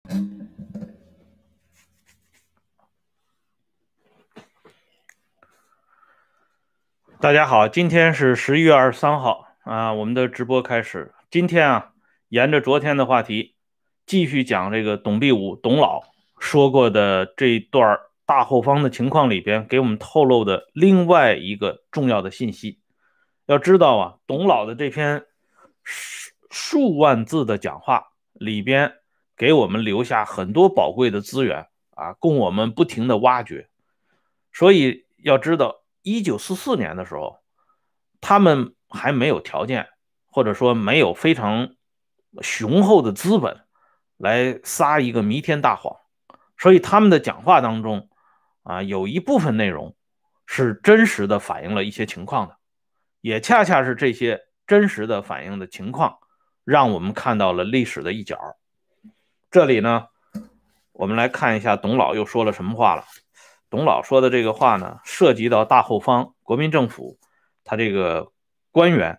大家好，今天是11月23号啊，我们的直播开始。今天啊，沿着昨天的话题，继续讲这个董必武董老说过的这一段大后方的情况里边，给我们透露的另外一个重要的信息。要知道啊，董老的这篇数万字的讲话里边，给我们留下很多宝贵的资源啊，供我们不停的挖掘。所以要知道，1944年的时候，他们还没有条件，或者说没有非常雄厚的资本来撒一个弥天大谎，所以他们的讲话当中啊，有一部分内容是真实的反映了一些情况的，也恰恰是这些真实的反映的情况，让我们看到了历史的一角。这里呢，我们来看一下董老又说了什么话了。董老说的这个话呢，涉及到大后方国民政府他这个官员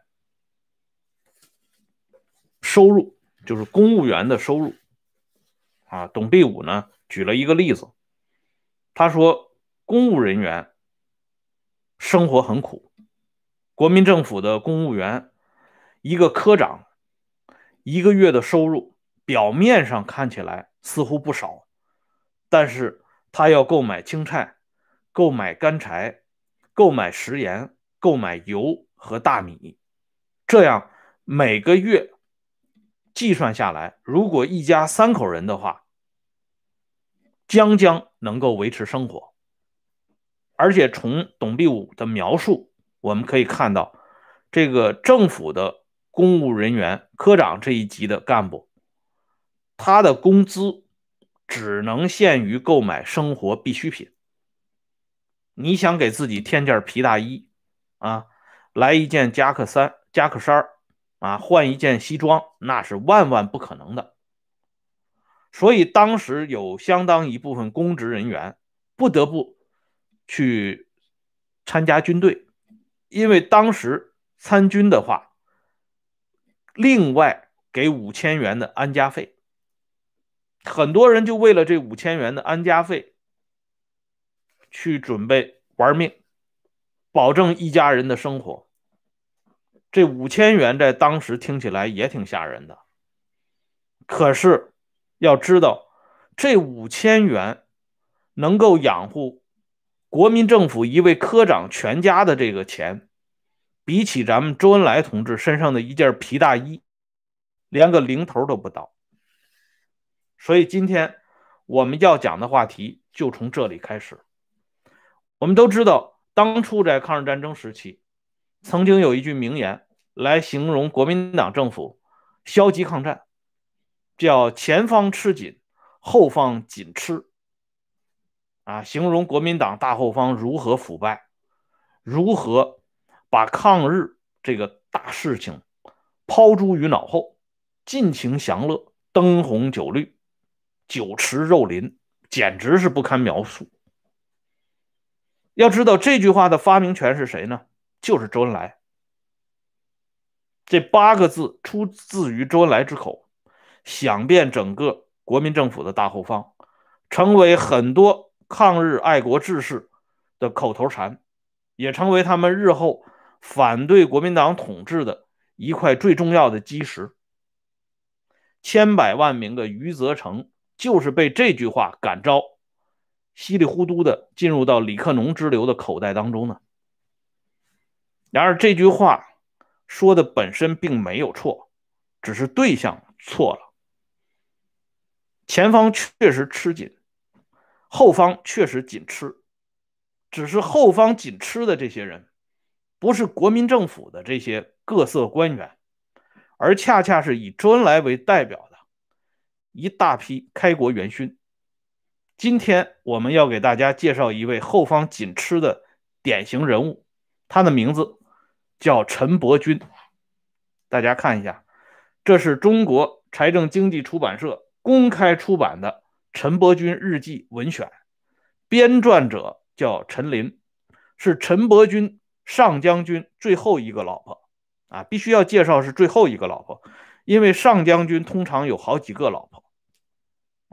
收入，就是公务员的收入啊。董必武呢举了一个例子，他说公务人员生活很苦，国民政府的公务员一个科长一个月的收入表面上看起来似乎不少，但是他要购买青菜、购买干柴、购买食盐、购买油和大米，这样每个月计算下来，如果一家3口人的话，将将能够维持生活。而且从董必武的描述，我们可以看到，这个政府的公务人员科长这一级的干部，他的工资只能限于购买生活必需品。你想给自己添件皮大衣啊，来一件夹克衫啊，换一件西装，那是万万不可能的。所以当时有相当一部分公职人员不得不去参加军队，因为当时参军的话，另外给5000元的安家费，很多人就为了这5000元的安家费去准备玩命，保证一家人的生活。这5000元在当时听起来也挺吓人的，可是要知道，这5000元能够养活国民政府一位科长全家的这个钱，比起咱们周恩来同志身上的一件皮大衣，连个零头都不到。所以今天我们要讲的话题就从这里开始。我们都知道，当初在抗日战争时期，曾经有一句名言来形容国民党政府消极抗战，叫前方吃紧，后方紧吃啊，形容国民党大后方如何腐败，如何把抗日这个大事情抛诸于脑后，尽情享乐，灯红酒绿，酒池肉林，简直是不堪描述。要知道这句话的发明权是谁呢？就是周恩来。这8个字出自于周恩来之口，响遍整个国民政府的大后方，成为很多抗日爱国志士的口头禅，也成为他们日后反对国民党统治的一块最重要的基石。千百万名的余则成就是被这句话感召，稀里糊涂的进入到李克农之流的口袋当中呢。然而这句话说的本身并没有错，只是对象错了。前方确实吃紧，后方确实紧吃，只是后方紧吃的这些人不是国民政府的这些各色官员，而恰恰是以周恩来为代表的一大批开国元勋。今天我们要给大家介绍一位后方紧吃的典型人物，他的名字叫陈伯钧。大家看一下，这是中国财政经济出版社公开出版的陈伯钧日记文选，编撰者叫陈林，是陈伯钧上将军最后一个老婆啊，必须要介绍是最后一个老婆，因为上将军通常有好几个老婆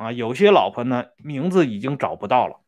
啊，有些老婆呢名字已经找不到了。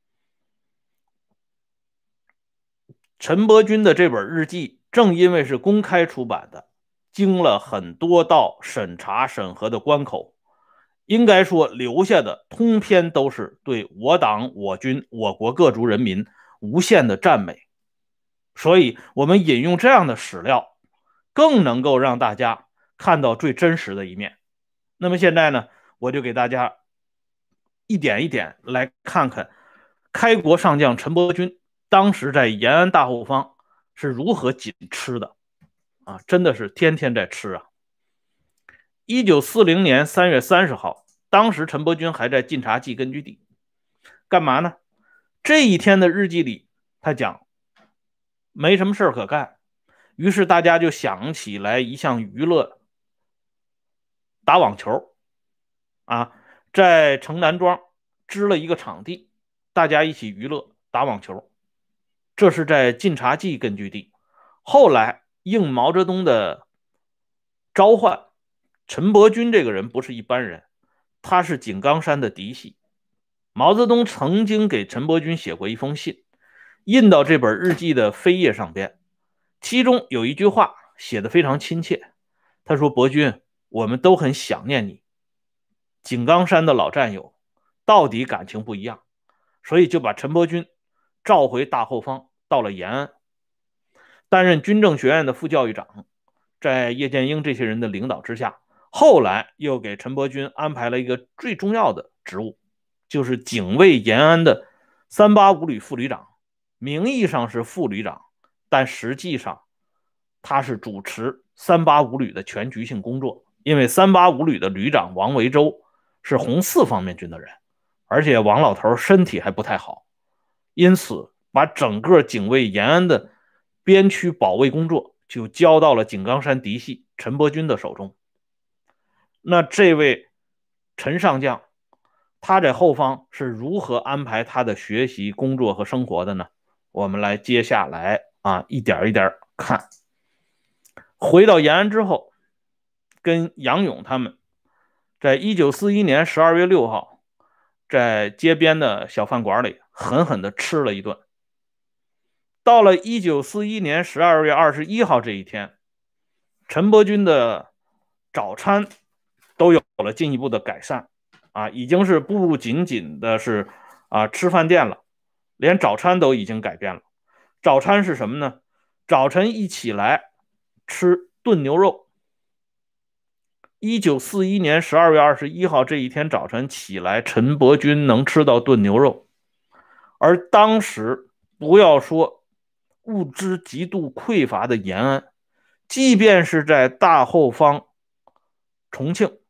陈伯钧的这本日记正因为是公开出版的，经了很多道审查审核的关口，应该说留下的通篇都是对我党、我军、我国各族人民无限的赞美。所以我们引用这样的史料，更能够让大家看到最真实的一面。那么现在呢，我就给大家一点一点来看看开国上将陈伯钧当时在延安大后方是如何紧吃的啊，真的是天天在吃啊。1940年3月30号，当时陈伯钧还在晋察冀根据地，干嘛呢？这一天的日记里，他讲没什么事可干，于是大家就想起来一项娱乐，打网球啊，在城南庄支了一个场地，大家一起娱乐打网球。这是在晋察冀根据地。后来应毛泽东的召唤，陈伯钧这个人不是一般人，他是井冈山的嫡系。毛泽东曾经给陈伯钧写过一封信，印到这本日记的扉页上边，其中有一句话写得非常亲切。他说：伯钧，我们都很想念你，井冈山的老战友，到底感情不一样，所以就把陈伯钧召回大后方，到了延安，担任军政学院的副教育长。在叶剑英这些人的领导之下，后来又给陈伯钧安排了一个最重要的职务，就是警卫延安的385旅副旅长。名义上是副旅长，但实际上他是主持385旅的全局性工作。因为385旅的旅长王维洲是红四方面军的人，而且王老头身体还不太好，因此把整个警卫延安的边区保卫工作就交到了井冈山嫡系陈伯钧的手中。那这位陈上将，他在后方是如何安排他的学习、工作和生活的呢？我们来接下来一点一点看。回到延安之后，跟杨勇他们在1941年12月6号，在街边的小饭馆里狠狠地吃了一顿。到了1941年12月21号这一天，陈伯钧的早餐都有了进一步的改善已经是不仅仅的是吃饭店了，连早餐都已经改变了。早餐是什么呢？早晨一起来吃炖牛肉。1941年12月21号这一天早晨起来，陈伯钧能吃到炖牛肉。而当时不要说物资极度匮乏的延安，即便是在大后方重庆，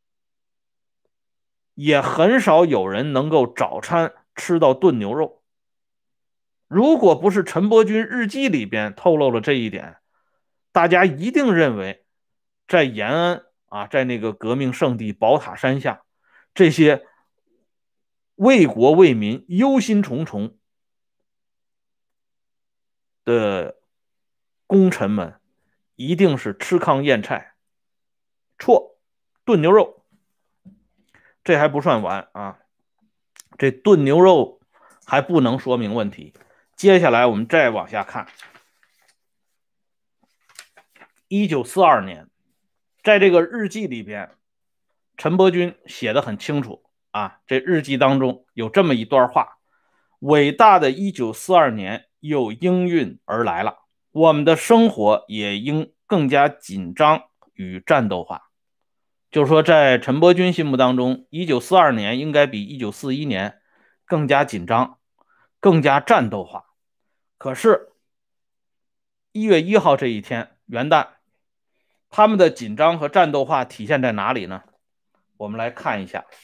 也很少有人能够早餐吃到炖牛肉。如果不是陈伯钧日记里边透露了这一点，大家一定认为在延安在那个革命圣地宝塔山下，这些为国为民忧心忡忡的功臣们一定是吃糠咽菜。错，炖牛肉。这还不算完这炖牛肉还不能说明问题。接下来我们再往下看。1942年，在这个日记里边，陈伯钧写得很清楚这日记当中有这么一段话：伟大的1942年又应运而来了，我们的生活也应更加紧张与战斗化。就是说，在陈伯钧心目当中，1942年应该比1941年更加紧张，更加战斗化。可是1月1号这一天，元旦，他们的紧张和战斗化体现在哪里呢？我们来看一下。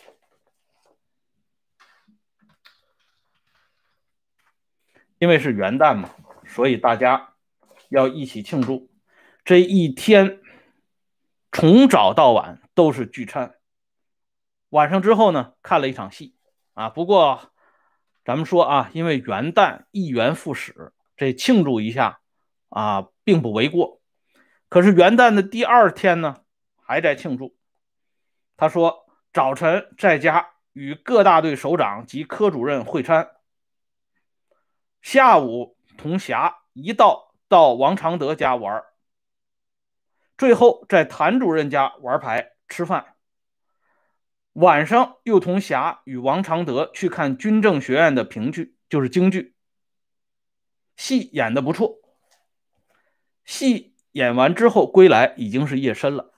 因为是元旦嘛，所以大家要一起庆祝。这一天从早到晚都是聚餐，晚上之后呢，看了一场戏不过咱们说因为元旦一元复始，这庆祝一下并不为过。可是元旦的第2天呢，还在庆祝。他说早晨在家与各大队首长及科主任会餐，下午同霞一道到王常德家玩，最后在谭主任家玩牌吃饭。晚上又同霞与王常德去看军政学院的评剧，就是京剧，戏演得不错。戏演完之后归来已经是夜深了。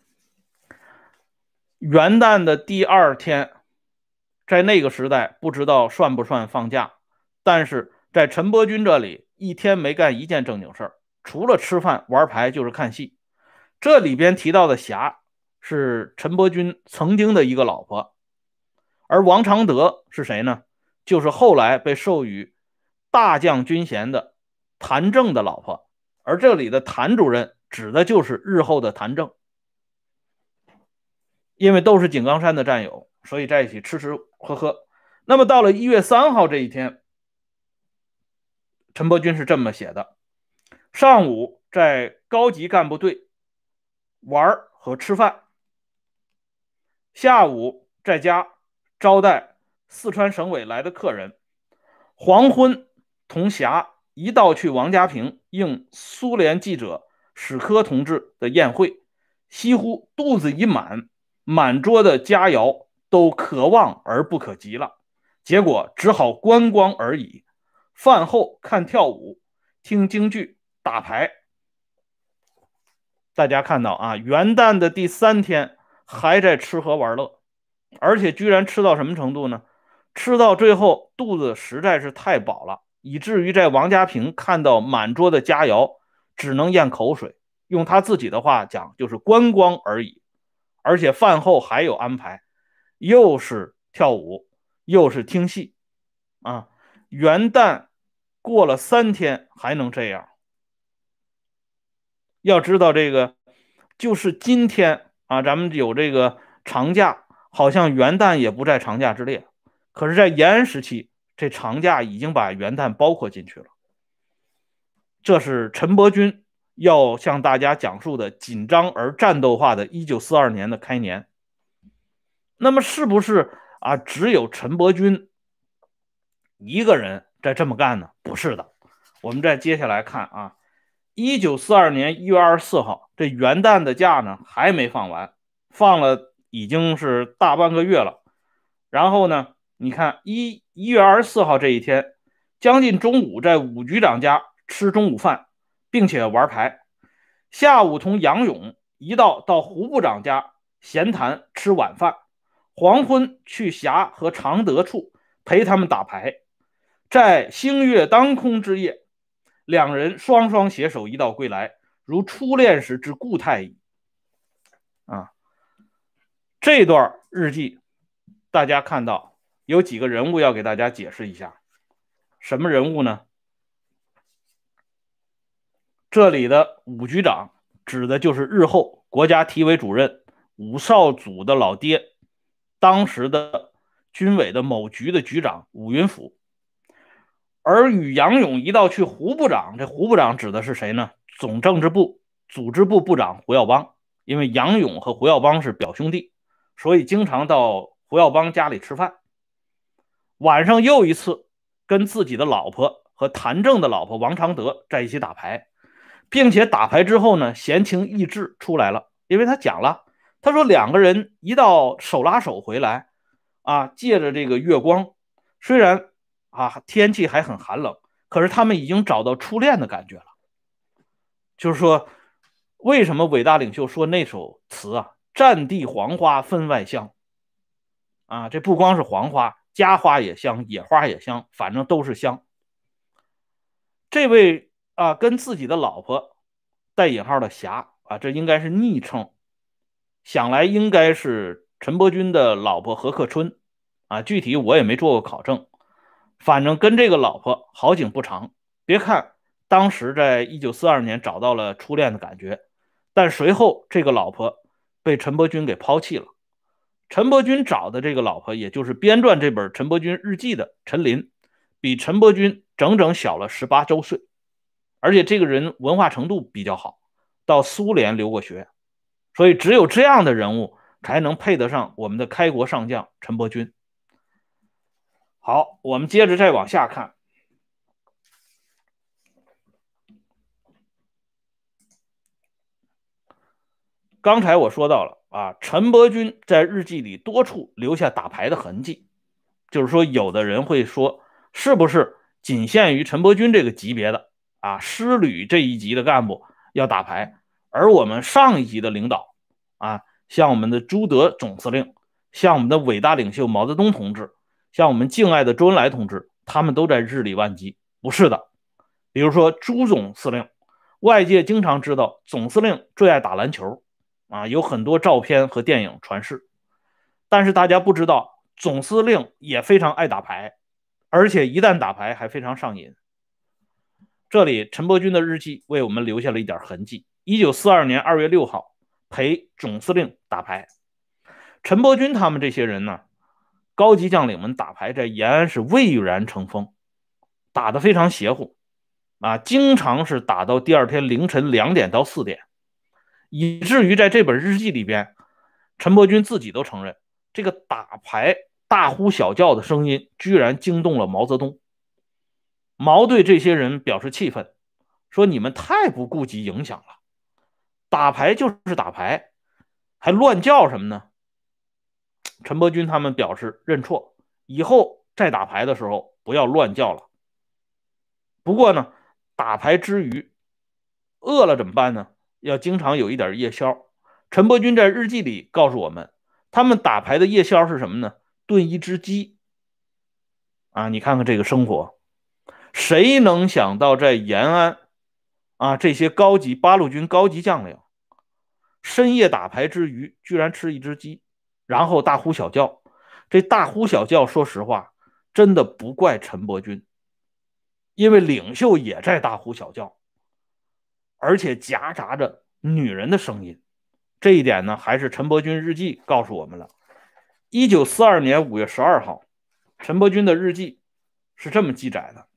元旦的第二天，在那个时代不知道算不算放假，但是在陈伯钧这里一天没干一件正经事儿，除了吃饭玩牌就是看戏。这里边提到的霞是陈伯钧曾经的一个老婆，而王常德是谁呢？就是后来被授予大将军衔的谭政的老婆，而这里的谭主任指的就是日后的谭政。因为都是井冈山的战友，所以在一起吃吃喝喝。那么到了1月3号这一天，陈伯钧是这么写的：上午在高级干部队玩和吃饭，下午在家招待四川省委来的客人，黄昏同霞一道去王家坪应苏联记者史科同志的宴会，几乎肚子一满，满桌的佳肴都可望而不可及了，结果只好观光而已。饭后看跳舞，听京剧，打牌。大家看到啊，元旦的第3天还在吃喝玩乐，而且居然吃到什么程度呢？吃到最后肚子实在是太饱了，以至于在王家坪看到满桌的佳肴，只能咽口水。用他自己的话讲，就是观光而已。而且饭后还有安排，又是跳舞，又是听戏啊！元旦过了3天还能这样？要知道这个就是今天啊，咱们有这个长假，好像元旦也不在长假之列。可是，在延安时期，这长假已经把元旦包括进去了。这是陈伯钧要向大家讲述的紧张而战斗化的1942年的开年。那么，是不是啊？只有陈伯钧一个人在这么干呢？不是的。我们再接下来看啊，1942年1月24号，这元旦的假呢还没放完，放了已经是大半个月了。然后呢，你看1月24号这一天，将近中午在武局长家吃中午饭，并且玩牌。下午同杨勇一道到胡部长家闲谈吃晚饭，黄昏去霞和常德处陪他们打牌。在星月当空之夜，两人双双携手一道归来，如初恋时之故态矣。这段日记大家看到有几个人物要给大家解释一下。什么人物呢？这里的武局长指的就是日后国家体委主任武少祖的老爹，当时的军委的某局的局长武云甫。而与杨勇一道去胡部长，这胡部长指的是谁呢？总政治部组织部部长胡耀邦。因为杨勇和胡耀邦是表兄弟，所以经常到胡耀邦家里吃饭。晚上又一次跟自己的老婆和谭政的老婆王常德在一起打牌，并且打牌之后呢，闲情逸致出来了。因为他讲了，他说两个人一道手拉手回来啊，借着这个月光，虽然天气还很寒冷，可是他们已经找到初恋的感觉了。就是说，为什么伟大领袖说那首词啊，战地黄花分外香啊？这不光是黄花，家花也香，野花也香，反正都是香。这位跟自己的老婆带引号的霞啊，这应该是昵称，想来应该是陈伯钧的老婆何克春啊，具体我也没做过考证。反正跟这个老婆好景不长，别看当时在1942年找到了初恋的感觉，但随后这个老婆被陈伯钧给抛弃了。陈伯钧找的这个老婆，也就是编撰这本陈伯钧日记的陈琳，比陈伯钧整整小了18周岁，而且这个人文化程度比较好，到苏联留过学，所以只有这样的人物才能配得上我们的开国上将陈伯钧。好，我们接着再往下看。刚才我说到了啊，陈伯钧在日记里多处留下打牌的痕迹，就是说有的人会说，是不是仅限于陈伯钧这个级别的啊师旅这一级的干部要打牌，而我们上一级的领导啊，像我们的朱德总司令，像我们的伟大领袖毛泽东同志，像我们敬爱的周恩来同志，他们都在日理万机？不是的。比如说朱总司令，外界经常知道总司令最爱打篮球啊，有很多照片和电影传世，但是大家不知道总司令也非常爱打牌，而且一旦打牌还非常上瘾。这里陈伯钧的日记为我们留下了一点痕迹。1942年2月6号，陪总司令打牌。陈伯钧他们这些人呢，高级将领们打牌在延安是蔚然成风，打得非常邪乎啊，经常是打到第二天凌晨2点到4点，以至于在这本日记里边，陈伯钧自己都承认，这个打牌大呼小叫的声音居然惊动了毛泽东。毛对这些人表示气愤，说你们太不顾及影响了，打牌就是打牌，还乱叫什么呢？陈伯钧他们表示认错，以后再打牌的时候不要乱叫了。不过呢，打牌之余饿了怎么办呢？要经常有一点夜宵。陈伯钧在日记里告诉我们，他们打牌的夜宵是什么呢？炖一只鸡啊！你看看这个生活，谁能想到在延安啊，这些高级八路军高级将领深夜打牌之余，居然吃一只鸡，然后大呼小叫。这大呼小叫，说实话，真的不怪陈伯钧，因为领袖也在大呼小叫，而且夹杂着女人的声音。这一点呢，还是陈伯钧日记告诉我们了。1942年5月12号，陈伯钧的日记是这么记载的：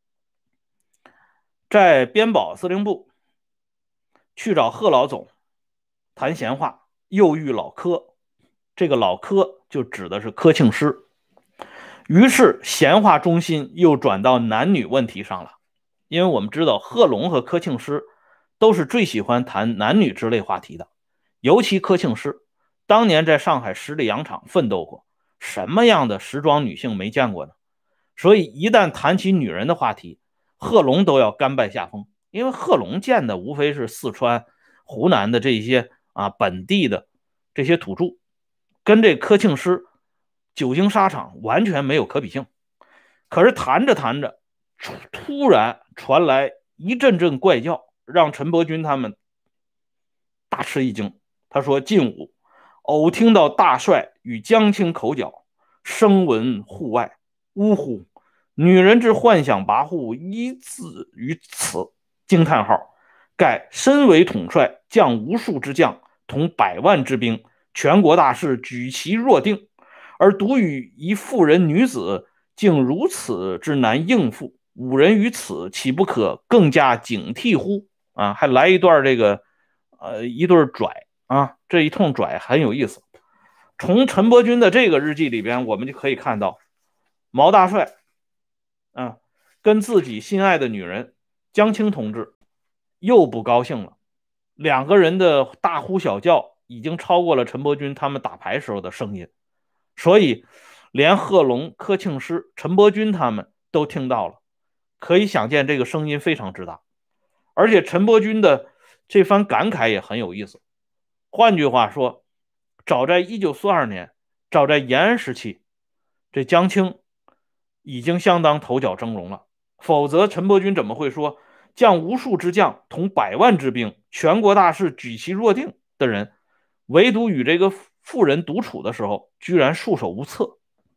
在边保司令部去找贺老总谈闲话，又遇老柯，这个老柯就指的是柯庆施。于是闲话中心又转到男女问题上了，因为我们知道贺龙和柯庆施都是最喜欢谈男女之类话题的，尤其柯庆施当年在上海十里洋场奋斗过，什么样的时装女性没见过呢？所以一旦谈起女人的话题，贺龙都要甘拜下风，因为贺龙见的无非是四川、湖南的这些本地的这些土著，跟这柯庆施久经沙场完全没有可比性。可是谈着谈着，突然传来一阵阵怪叫，让陈伯钧他们大吃一惊。他说：近午偶听到大帅与江青口角，声闻户外，呜呼！女人之幻想跋扈，一字于此！惊叹号！盖身为统帅，将无数之将，统100万之兵，全国大事举其若定，而独与一妇人女子，竟如此之难应付，吾人于此，岂不可更加警惕乎？啊，还来一段这个，一对拽啊，这一通拽很有意思。从陈伯钧的这个日记里边，我们就可以看到，毛大帅跟自己心爱的女人江青同志又不高兴了，两个人的大呼小叫已经超过了陈伯钧他们打牌时候的声音，所以连贺龙、柯庆施、陈伯钧他们都听到了，可以想见这个声音非常之大。而且陈伯钧的这番感慨也很有意思。换句话说，早在1942年，早在延安时期，这江青已经相当头角峥嵘了，否则陈伯钧怎么会说将无数之将，统100万之兵，全国大事举其若定的人，唯独与这个妇人独处的时候，居然束手无策？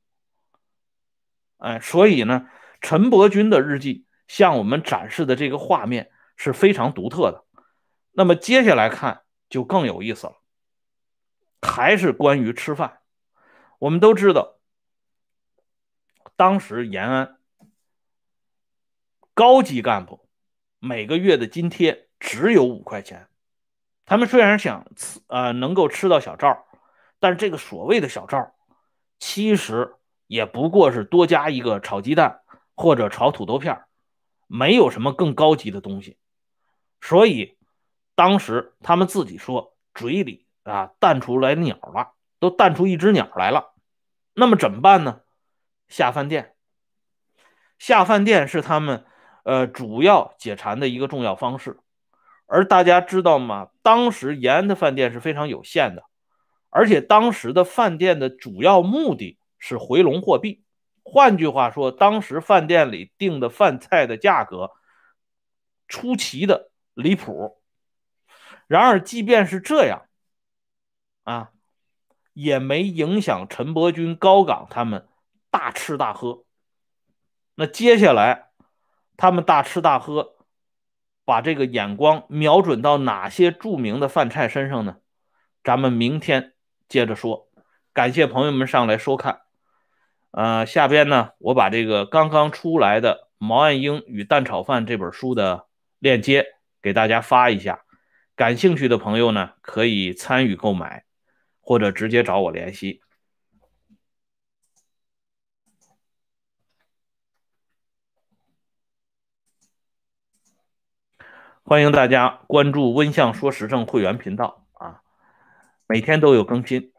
所以呢，陈伯钧的日记向我们展示的这个画面是非常独特的。那么接下来看就更有意思了，还是关于吃饭。我们都知道，当时延安高级干部每个月的津贴只有5块钱，他们虽然想能够吃到小灶， 但是这个所谓的小灶，其实也不过是多加一个炒鸡蛋或者炒土豆片，没有什么更高级的东西。所以当时他们自己说嘴里淡出来鸟了，都淡出一只鸟来了。那么怎么办呢？下饭店。下饭店是他们主要解馋的一个重要方式。而大家知道吗？当时延安的饭店是非常有限的，而且当时的饭店的主要目的是回笼货币。换句话说，当时饭店里订的饭菜的价格出奇的离谱。然而，即便是这样啊，也没影响陈伯钧、高岗他们大吃大喝。那接下来他们大吃大喝，把这个眼光瞄准到哪些著名的饭菜身上呢？咱们明天接着说。感谢朋友们上来收看。下边呢，我把这个刚刚出来的毛岸英与蛋炒饭这本书的链接给大家发一下，感兴趣的朋友呢可以参与购买，或者直接找我联系。欢迎大家关注温相说时政会员频道啊，每天都有更新。